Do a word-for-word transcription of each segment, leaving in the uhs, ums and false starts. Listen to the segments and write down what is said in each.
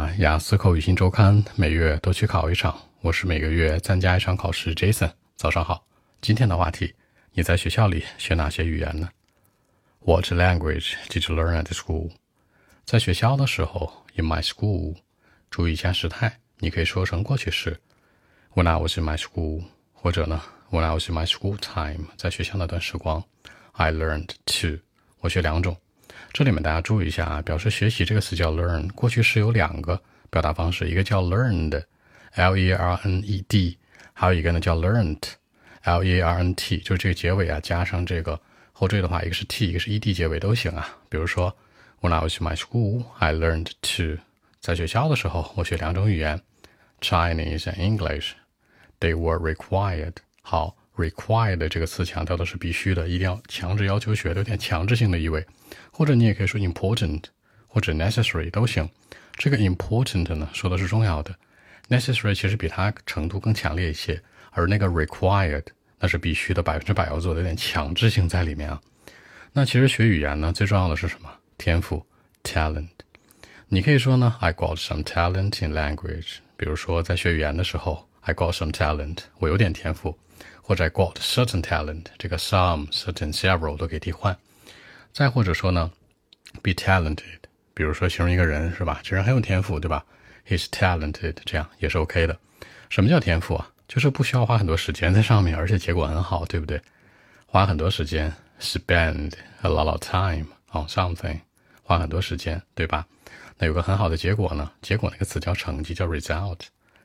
啊，雅思口语新周刊每月都去考一场，我是每个月参加一场考试 Jason。早上好，今天的话题，你在学校里学哪些语言呢？ What language did you learn at school? 在学校的时候 in my school， 注意一下时态，你可以说成过去式 When I was in my school， 或者呢 When I was in my school time， 在学校那段时光 I learned to， 我学两种。这里面大家注意一下啊，表示学习这个词叫 learn， 过去式有两个表达方式，一个叫 learned L E R N E D， 还有一个呢叫 learnt L E R N T， 就是这个结尾啊加上这个后缀的话，一个是 T 一个是 E D 结尾都行啊。比如说 When I was in my school I learned to， 在学校的时候我学两种语言 Chinese and English， They were required。 好， required 这个词强调的是必须的，一定要强制要求学的，有点强制性的意味，或者你也可以说 important 或者 necessary 都行。这个 important 呢说的是重要的， necessary 其实比它程度更强烈一些，而那个 required 那是必须的，百分之百要做的，有点强制性在里面啊。那其实学语言呢最重要的是什么？天赋 talent。 你可以说呢 I got some talent in language， 比如说在学语言的时候 I got some talent， 我有点天赋，或者 I got certain talent， 这个 some certain several 都可以替换。再或者说呢 be talented， 比如说形容一个人是吧，这人很有天赋对吧， he's talented， 这样也是 OK 的。什么叫天赋啊？就是不需要花很多时间在上面，而且结果很好，对不对？花很多时间 spend a lot of time on something， 花很多时间对吧？那有个很好的结果呢，结果那个词叫成绩，叫 result，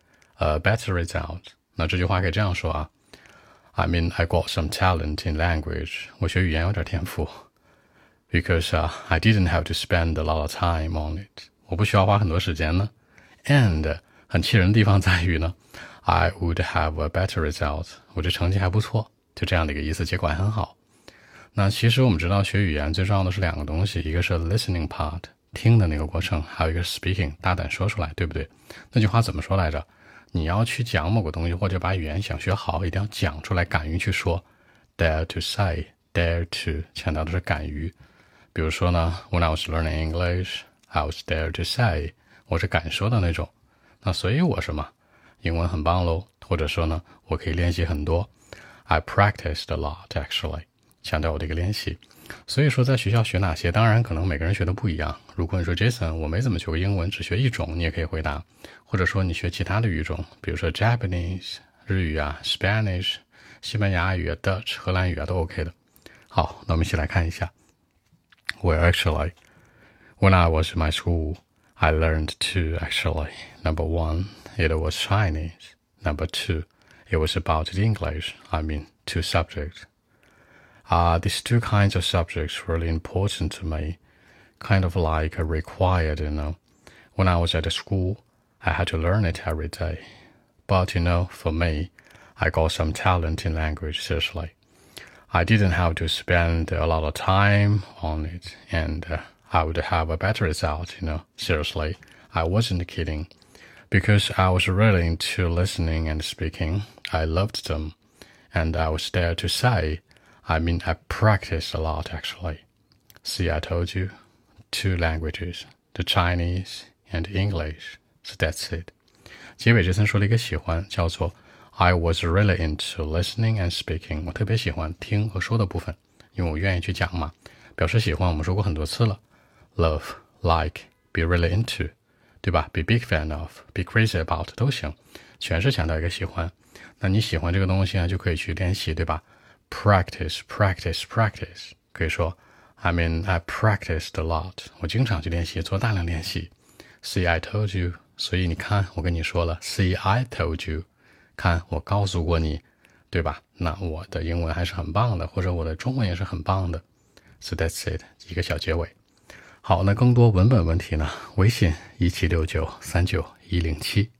a better result。 那这句话可以这样说啊， I mean I got some talent in language， 我学语言有点天赋Because、uh, I didn't have to spend a lot of time on it， 我不需要花很多时间呢。And 很气人的地方在于呢 I would have a better result， 我这成绩还不错，就这样的一个意思，结果还很好。那其实我们知道学语言最重要的是两个东西，一个是 listening part 听的那个过程，还有一个是 speaking 大胆说出来，对不对？那句话怎么说来着？你要去讲某个东西，或者把语言想学好，一定要讲出来，敢于去说 dare to say dare to 强调的是敢于。比如说呢 When I was learning English I was dare to say， 我是敢说的那种。那所以我什么英文很棒咯，或者说呢我可以练习很多 I practiced a lot actually， 强调我的一个练习。所以说在学校学哪些，当然可能每个人学的不一样。如果你说 Jason 我没怎么学过英文，只学一种，你也可以回答。或者说你学其他的语种，比如说 Japanese 日语啊 Spanish 西班牙语啊 Dutch 荷兰语啊都 OK 的。好，那我们一起来看一下。Well, actually, when I was in my school, I learned two, actually. Number one, it was Chinese. Number two, it was about English. I mean, two subjects. Uh, these two kinds of subjects were really important to me, kind of like required, you know. When I was at school, I had to learn it every day. But, you know, for me, I got some talent in language, seriously.I didn't have to spend a lot of time on it, and uh, I would have a better result, you know. Seriously, I wasn't kidding. Because I was really into listening and speaking. I loved them. And I was there to say, I mean, I practiced a lot, actually. See, I told you, two languages, the Chinese and English. So that's it. 结尾这层说了一个喜欢，叫做I was really into listening and speaking， 我特别喜欢听和说的部分，因为我愿意去讲嘛。表示喜欢我们说过很多次了 Love, like, be really into， 对吧？ Be big fan of, be crazy about 都行，全是强调一个喜欢。那你喜欢这个东西呢，就可以去练习，对吧？ Practice, practice, practice， 可以说 I mean, I practiced a lot， 我经常去练习，做大量练习。 See, I told you， 所以你看我跟你说了 See, I told you，看我告诉过你，对吧？那我的英文还是很棒的，或者我的中文也是很棒的。 So that's it， 一个小结尾。好，那更多文本问题呢，微信一七六九三九一零七。